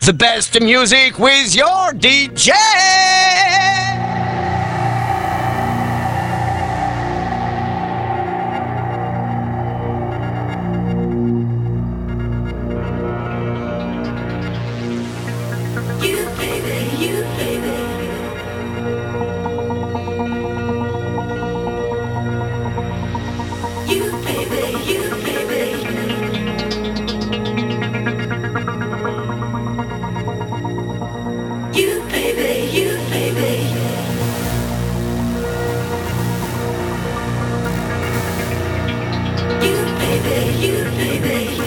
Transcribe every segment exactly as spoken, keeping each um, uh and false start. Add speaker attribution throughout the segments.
Speaker 1: The best music with your D J.
Speaker 2: You baby, you baby. You baby, you baby. You baby, you baby. You baby, you baby.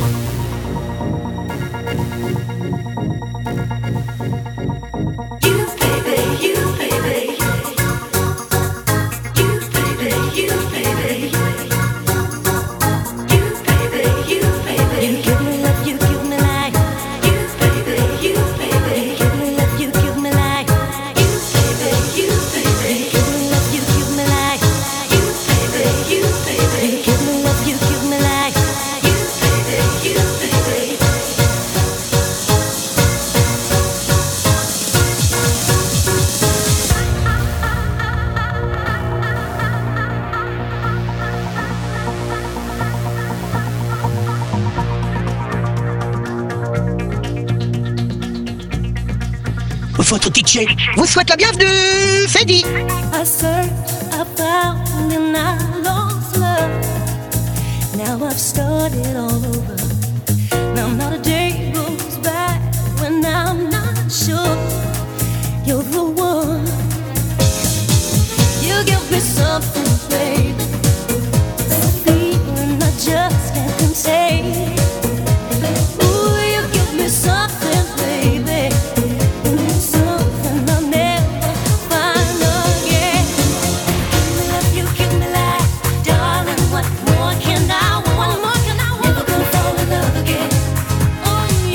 Speaker 2: You baby, you baby. You baby, you baby. You baby, you baby. You give me love, you give me life. You baby, you baby. You give me love, you give me life. You baby, you baby. You give me love, you give me life. You baby, you baby. You give me love, you give me life. You baby, you baby.
Speaker 1: Votre D J vous souhaite la bienvenue, c'est dit.
Speaker 2: I searched, I found, and I lost love. Now I've started all over. Now not a day goes by when I'm not sure you're the one. You give me something, baby, a feeling I just can't contain. Ooh, you give me something, baby. Something I'll never find again. Give me love, you give me life, darling. What more can I want? What more can I want? Never gonna fall in love again. Oh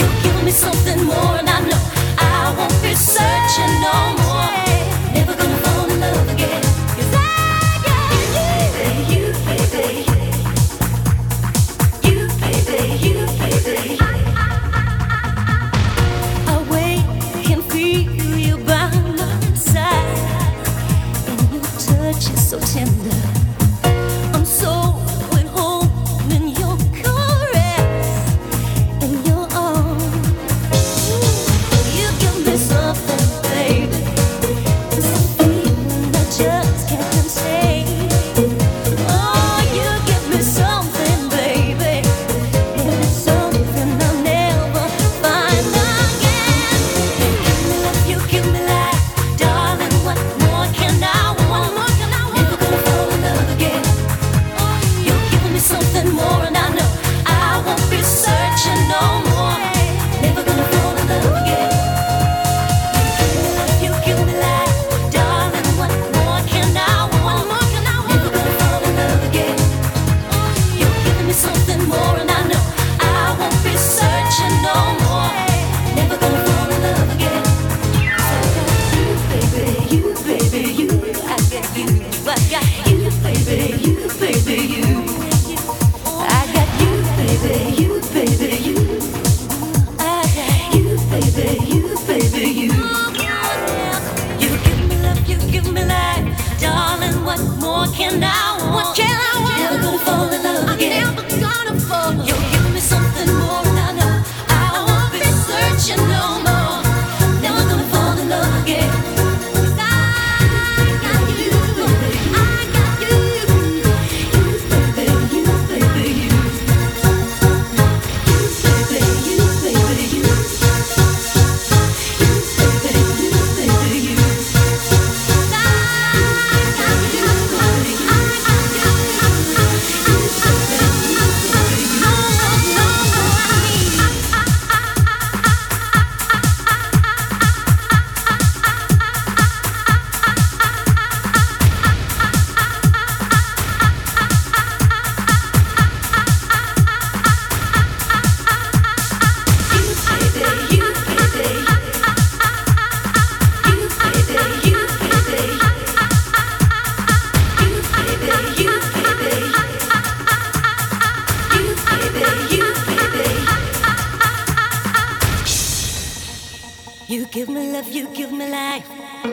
Speaker 2: You give me love, you give me life.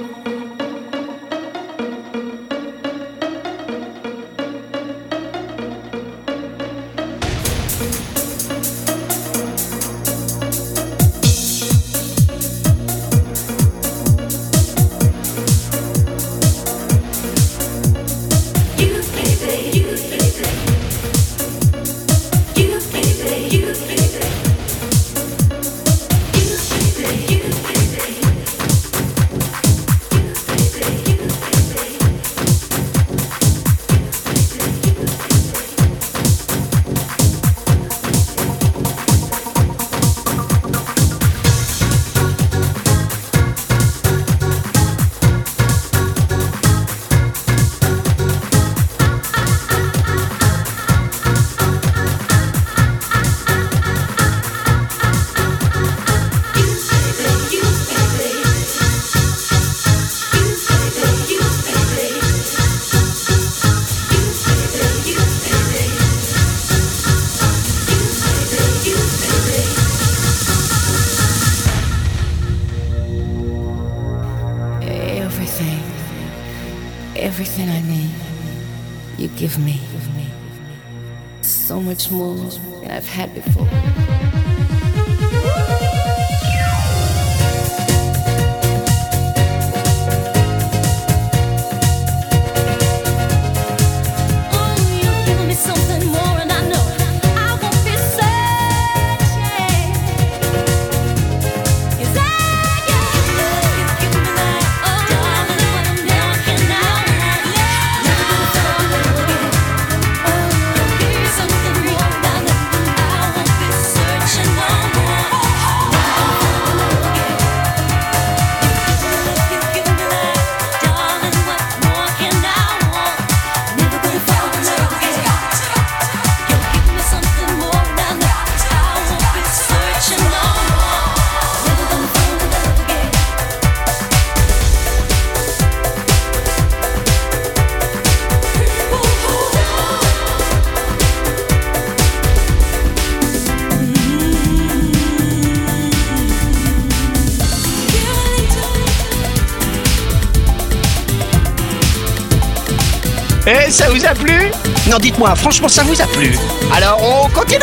Speaker 3: Everything I need, you give me. So much more than I've had before.
Speaker 1: Eh, ça vous a plu? Non, dites-moi, franchement, ça vous a plu? Alors, on continue?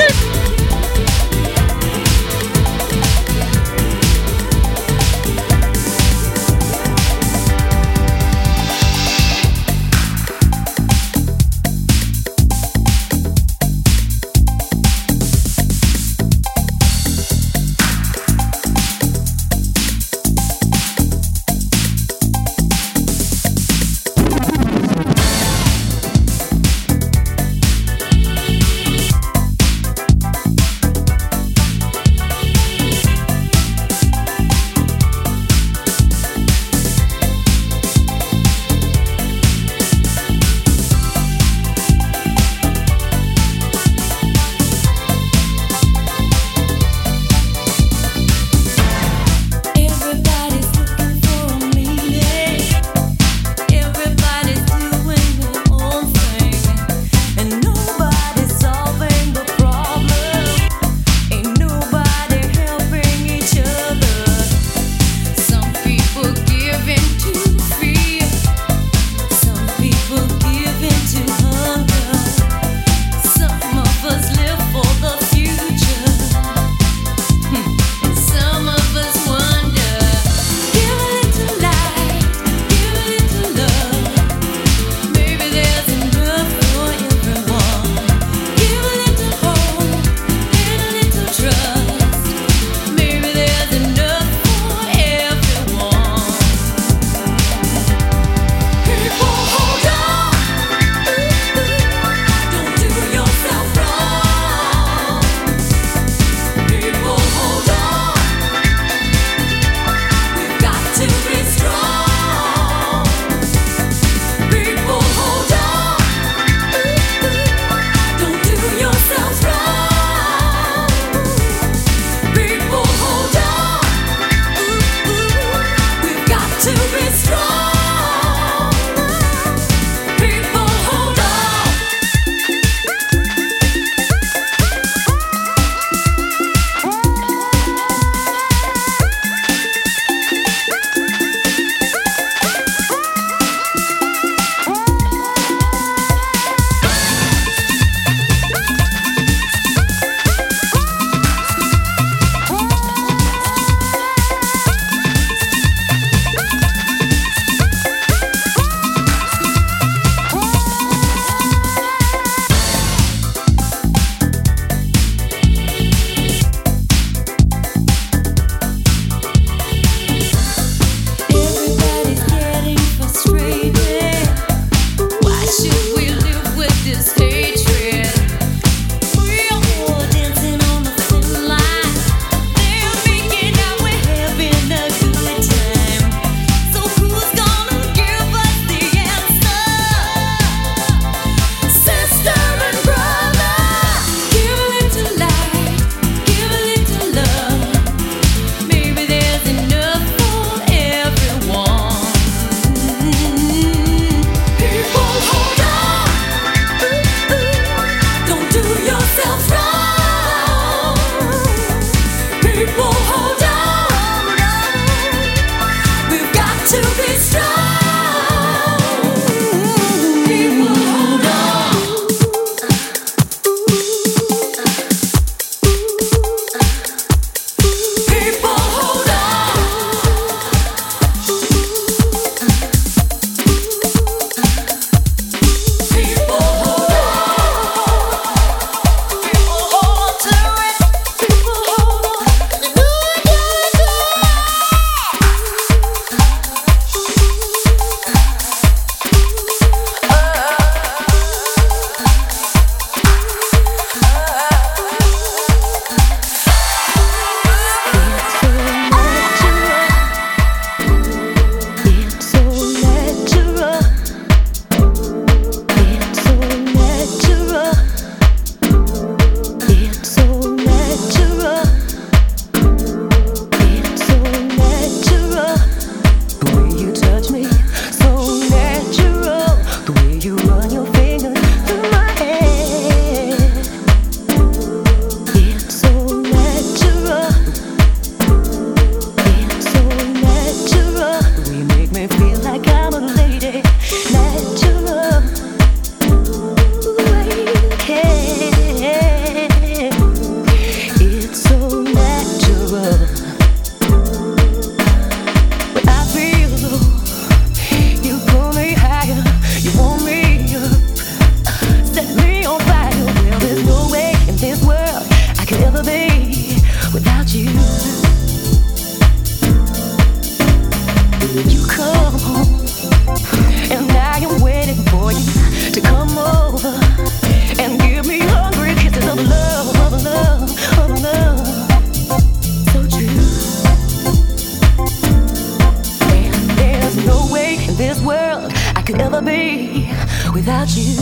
Speaker 2: be without you.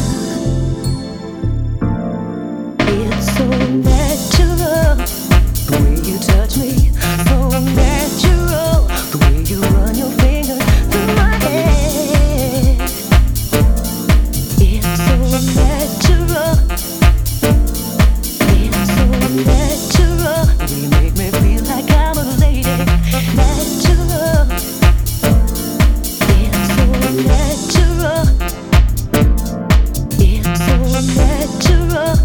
Speaker 2: It's so natural, the way you touch me. So natural, the way you run your fingers through my head. It's so natural, it's so natural. You make me feel like I'm a lady. Natural, it's so natural, it's so natural.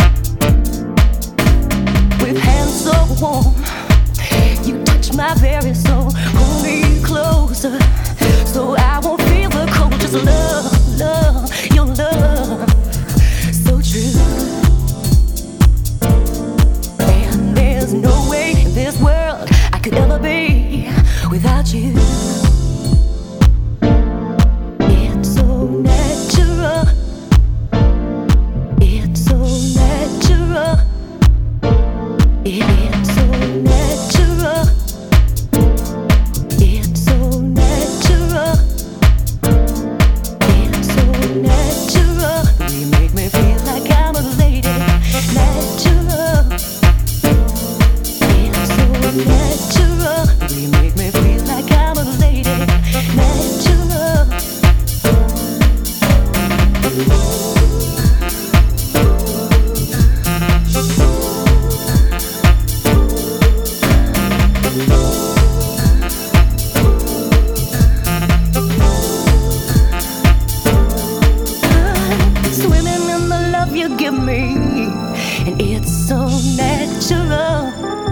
Speaker 2: With hands so warm, you touch my very soul. Pull me closer, so I won't feel the cold. Just love, love, your love, so true. And there's no way in this world I could ever be without you. It's so natural, it's so natural. It's so natural, it's so natural, it's so natural. You make me feel like I'm a lady. Natural, it's so natural. You make me feel like I'm a lady. Natural. Swimming in the love you give me, and it's so natural,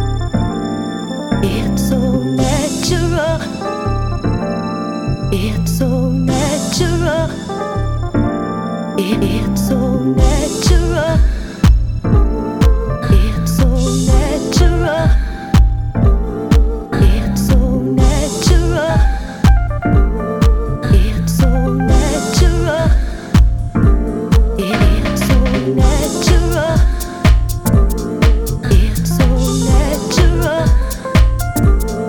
Speaker 2: it's so natural, it's so natural, it, it's so natural, it's so natural, it's so natural, it's so natural. It's so natural, it's so natural,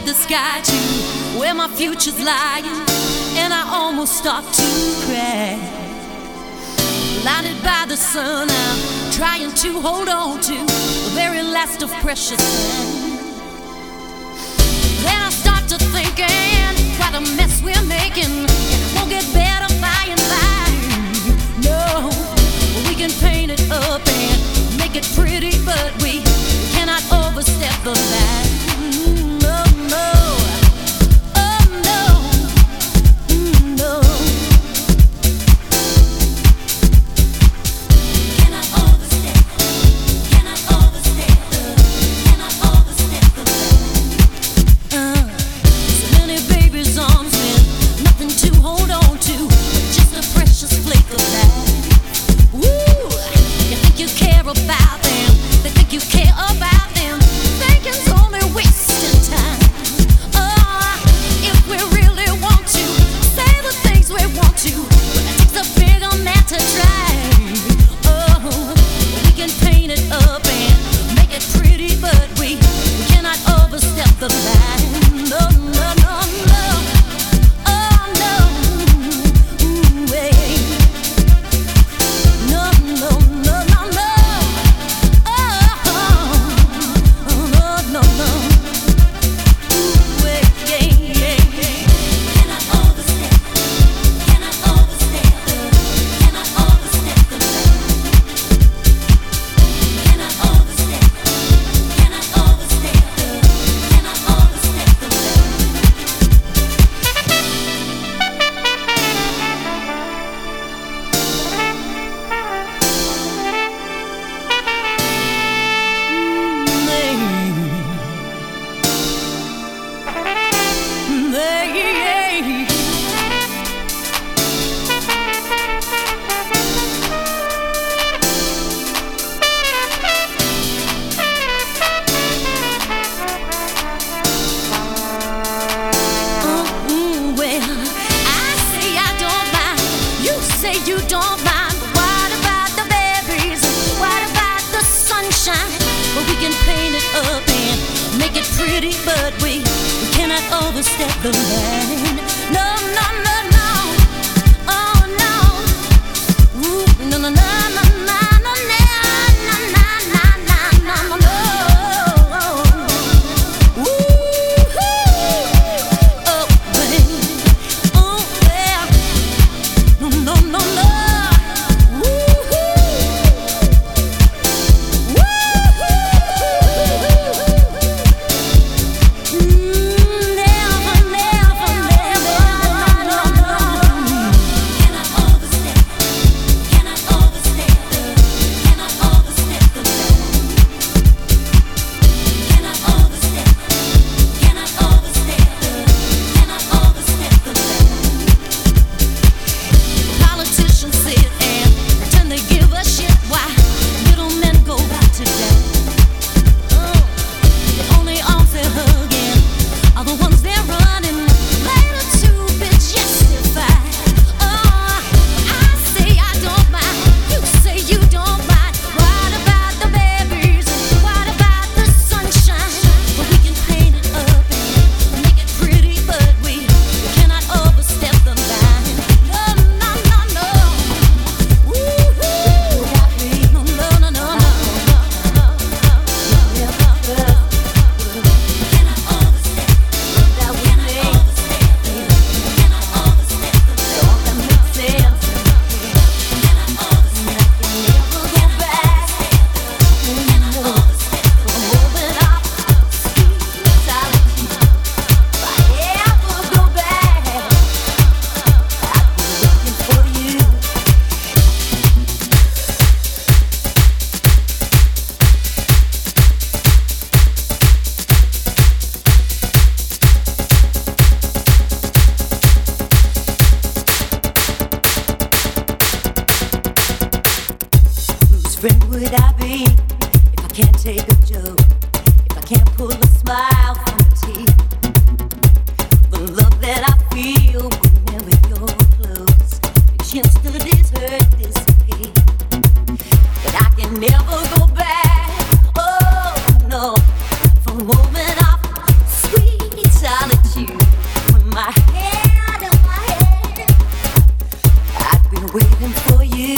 Speaker 2: the sky to where my future's lying, and I almost start to cry. Blinded by the sun, I'm trying to hold on to the very last of precious time. Then I start to thinking, what a mess we're making. It won't get better by and by. No, we can paint it up and make it pretty, but we cannot overstep the line. No, no, oh no, mm, no. Cannot overstep, cannot overstep the, cannot overstep the line. Uh, so many babies' arms with nothing to hold on to, just a precious flake of life. Woo! You think you care about them, they think you care about them. Thinking's only wasting time. Oh, if we really want to say the things we want to, well, it takes a bigger man to try. Oh, we can paint it up and make it pretty, but we, we cannot overstep the line. No, no, no, no. Oh, no. Ooh, hey. No, no, no, no, no. Oh, no, no, no. Ooh, hey, yeah, yeah, yeah. Cannot overstep, cannot overstep the, cannot overstep the line. Cannot overstep, cannot overstep the, cannot overstep the line. Mm, well, I say I don't mind, you say you don't mind, but what about the berries? What about the sunshine? Well, we can paint it up and make it pretty, but we, we cannot overstep the line. No, no, no, no. Oh, no. Ooh, no, no, no, no, no, no, no, no, no, no, no, no, no. Ooh, oh, baby. Oh, yeah. No, no, no, no. Ooh, mm, never, never, never, no, no, no. Cannot overstep, cannot overstep the, cannot overstep the line. Cannot overstep, cannot overstep the, cannot overstep the line. Politicians sit and pretend they give a shit why little men go out today. Oh, the only arms they're hugging are the ones they're running later to be justified. Oh, I say I don't mind, you say you don't mind. What about the berries? What about the sunshine? But we can paint it up and make it pretty, but we, we cannot overstep the line. No, no, no, no. Woo-hoo. No, no, no, no, no. Cannot overstep, that we cannot overstep, cannot overstep the line. That makes sense. Cannot overstep, never go back. Cannot overstep, moving up, sweet silence. If I ever go back, I'll be looking for you. Whose friend would I be if I can't take a joke? If I can't pull a smile from a tear? The love that I feel whenever you're close makes yesterday's hurt disappear. But I can never go back. Oh no, for a moment of sweet waiting for you.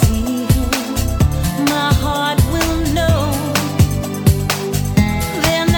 Speaker 2: Then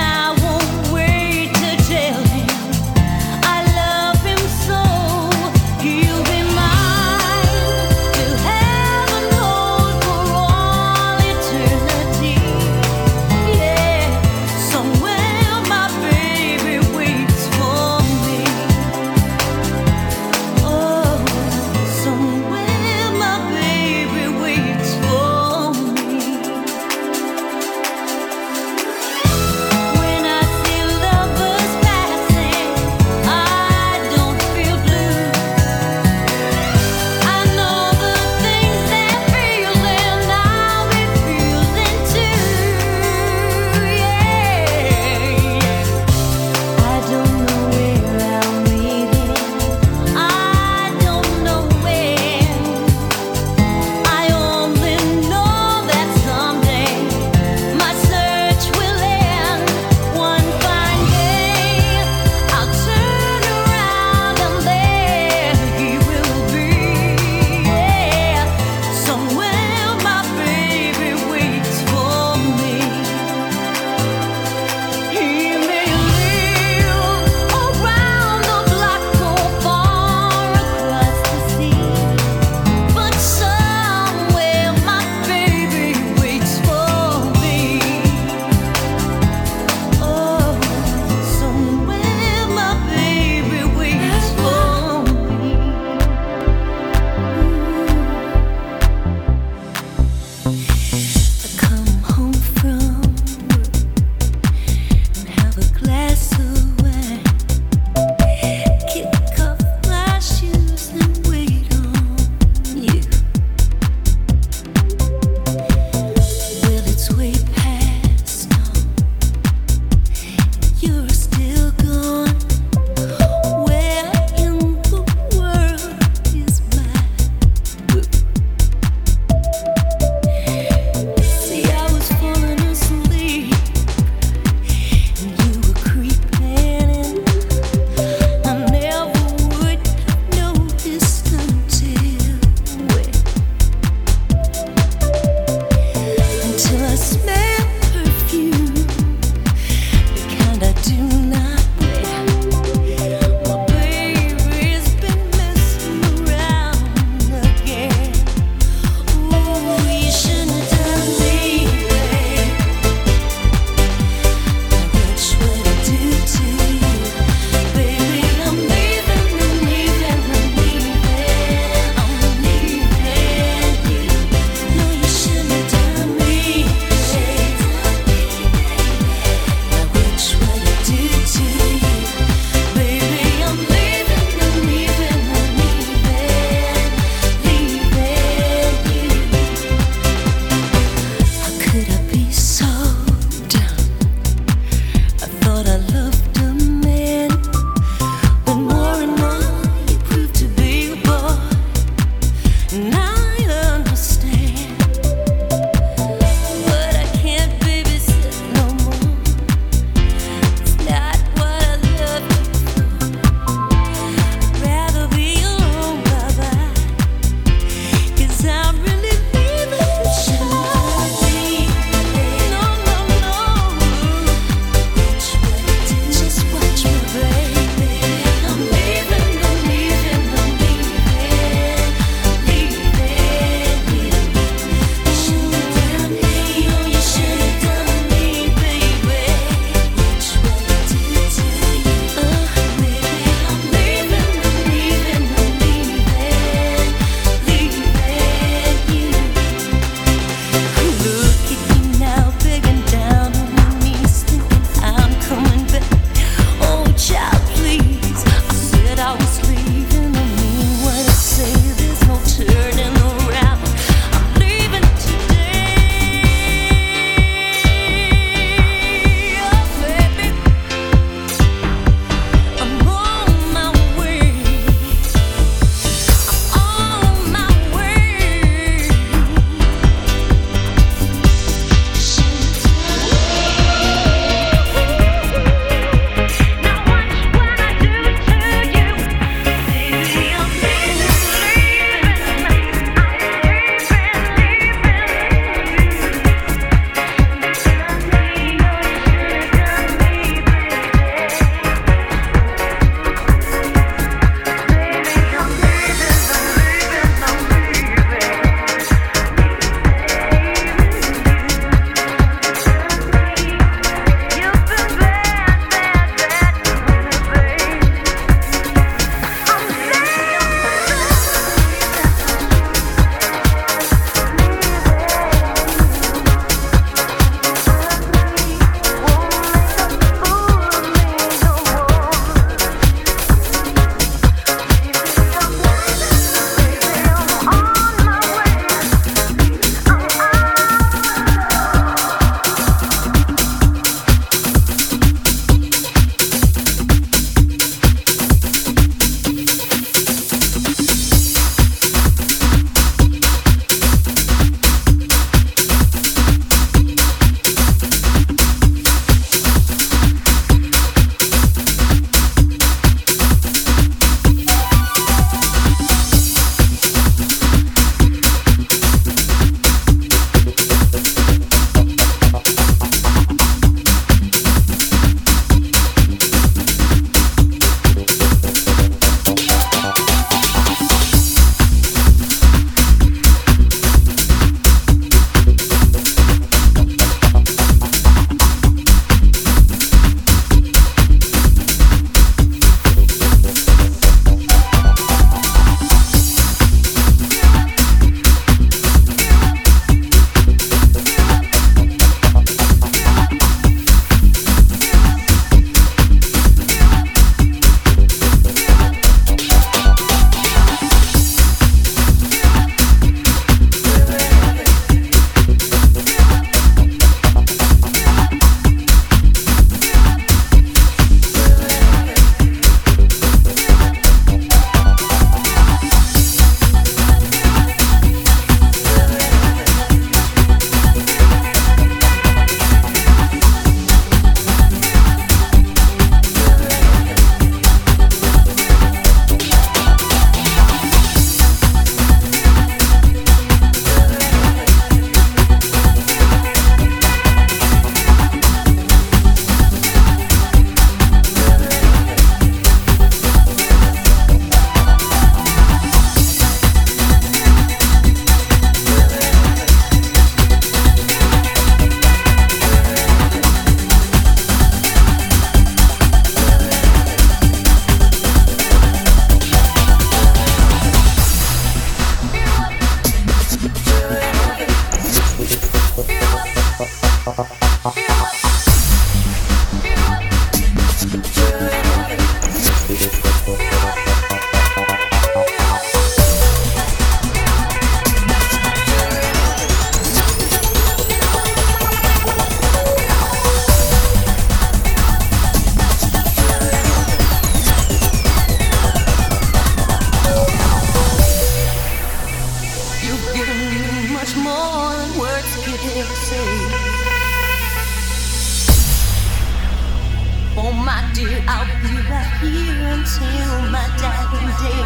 Speaker 2: my dear, I'll be right here until my dying day.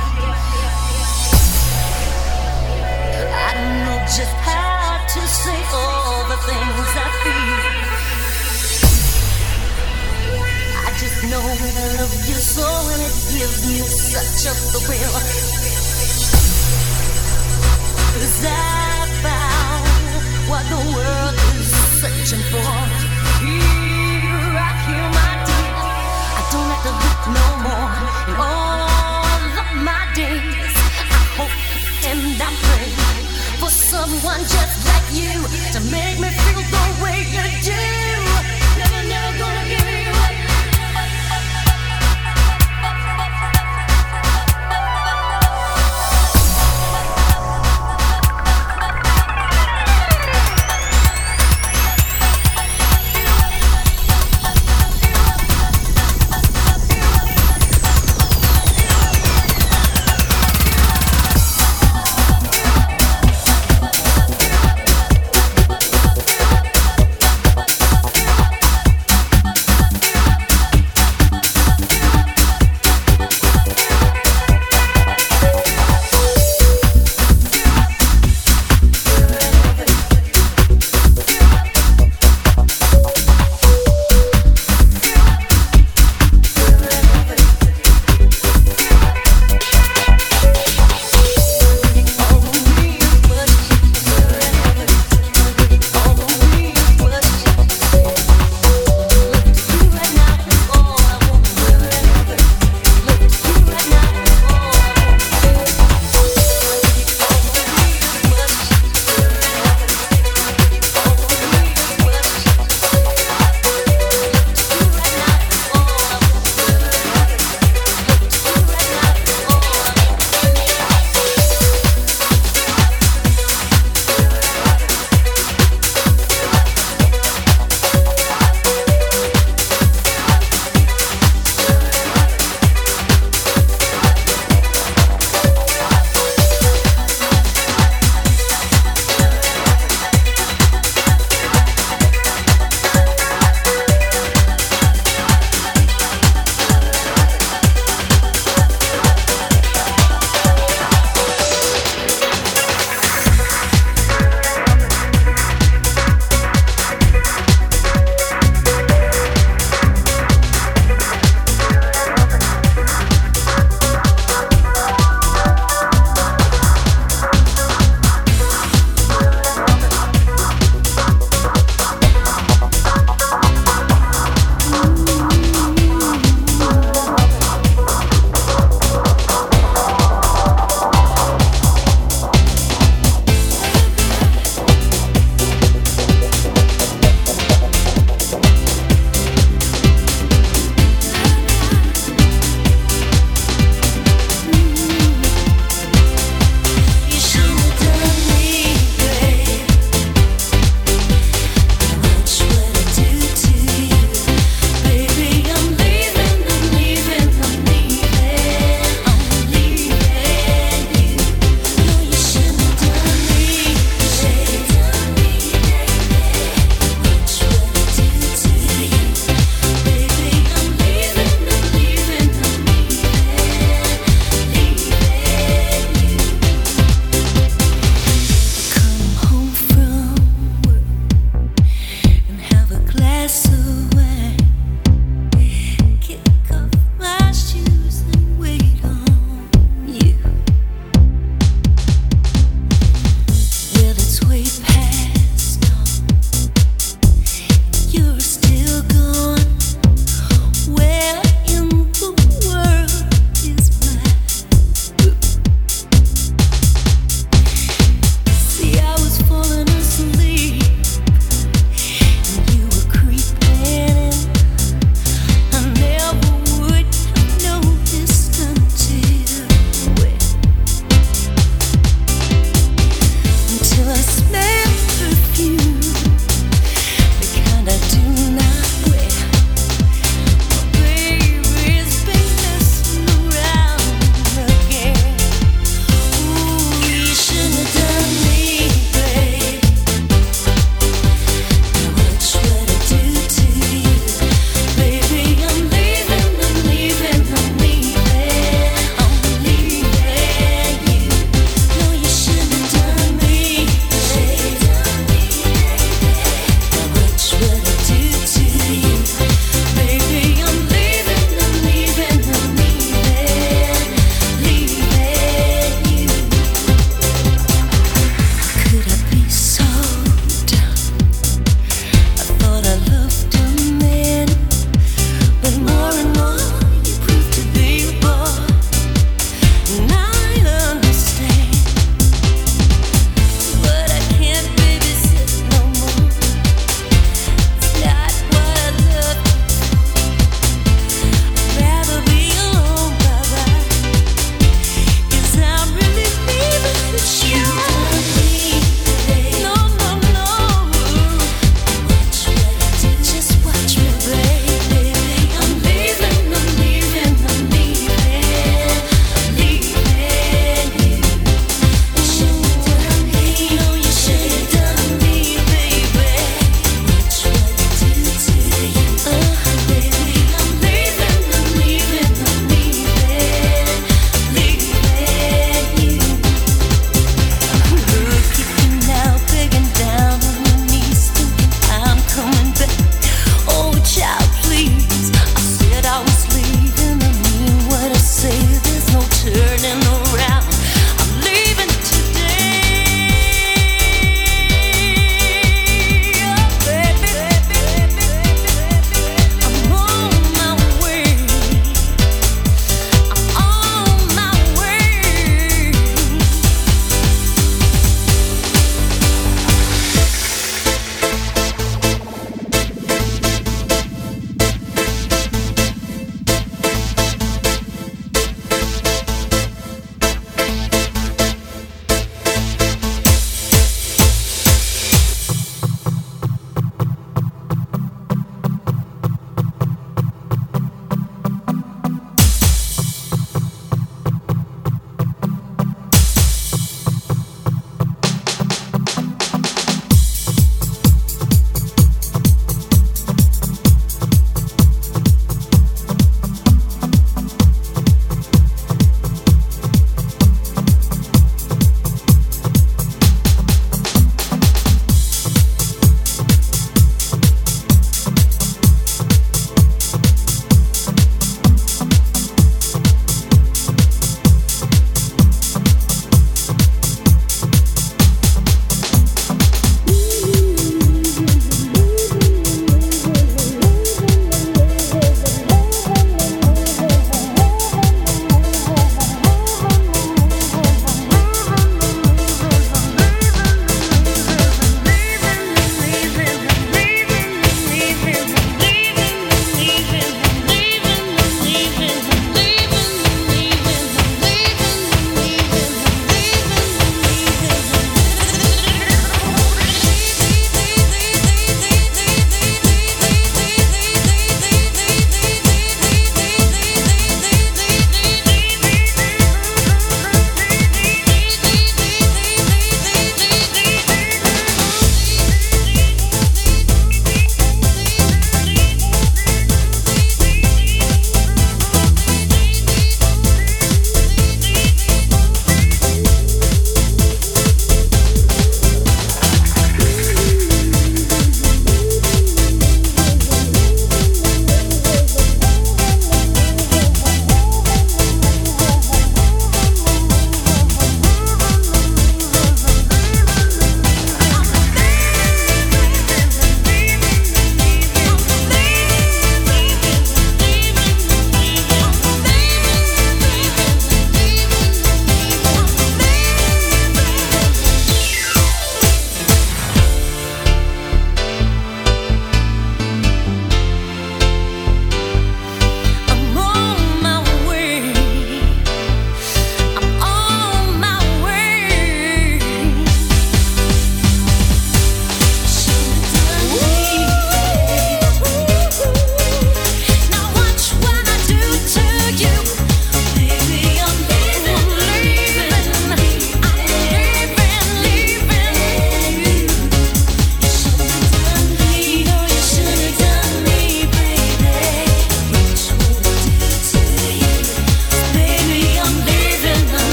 Speaker 2: I don't know just how to say all the things I feel. I just know that I love you so, and it gives me such a thrill. 'Cause I found what the world is searching for. Here, right here, my dear. I don't have to look no more. In all of my days, I hope and I pray for someone just like you to make me feel the way you do. Never, never gonna give you up.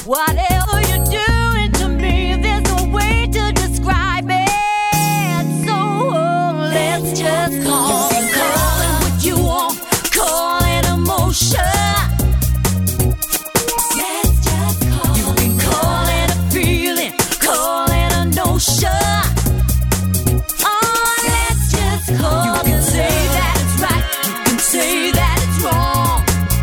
Speaker 2: Whatever you're doing to me, there's no way to describe it. So let's just call it, call it what you want, call it emotion. Let's just call it. You can call it a feeling, call it a notion. Oh, let's just call it. You can say that it's right, you can say that it's wrong.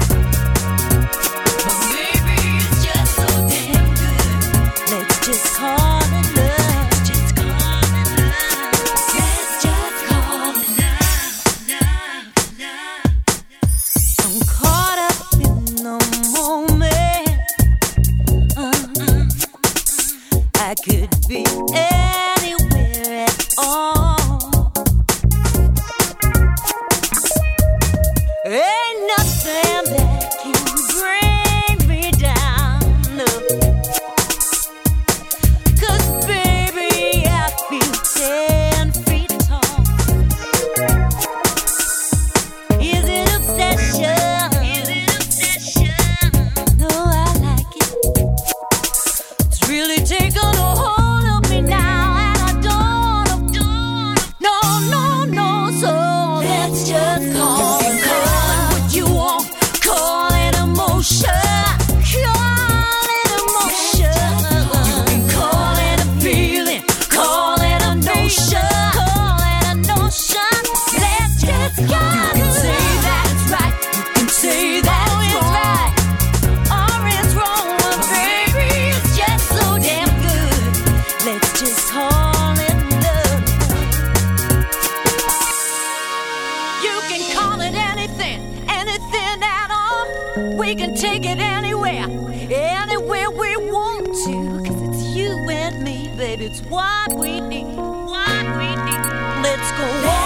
Speaker 2: But maybe it's just so damn good. Let's just call it love. Just call it love. Let's just call it love, love, love. I'm caught up in the moment. Uh-uh. I could be anywhere at all. Ain't nothing that can bring me down, no. 'Cause baby, I feel ten feet tall. Is it obsession? Is it obsession? No, I like it. It's really taken a hold of me now, and I don't, don't, no, no, no. So let's just call it, call it what you want, call it emotion, call it emotion. You can call it a feeling, call it a notion, call it a notion. Let's just call it. You can say that it's right, you can say that it's wrong, or it's wrong, but baby, it's just so damn good. Let's just call it love. You can call it anything, anything at all. We can take it anywhere, anywhere we want to. 'Cause it's you and me, baby, it's what we need, what we need. Let's go on.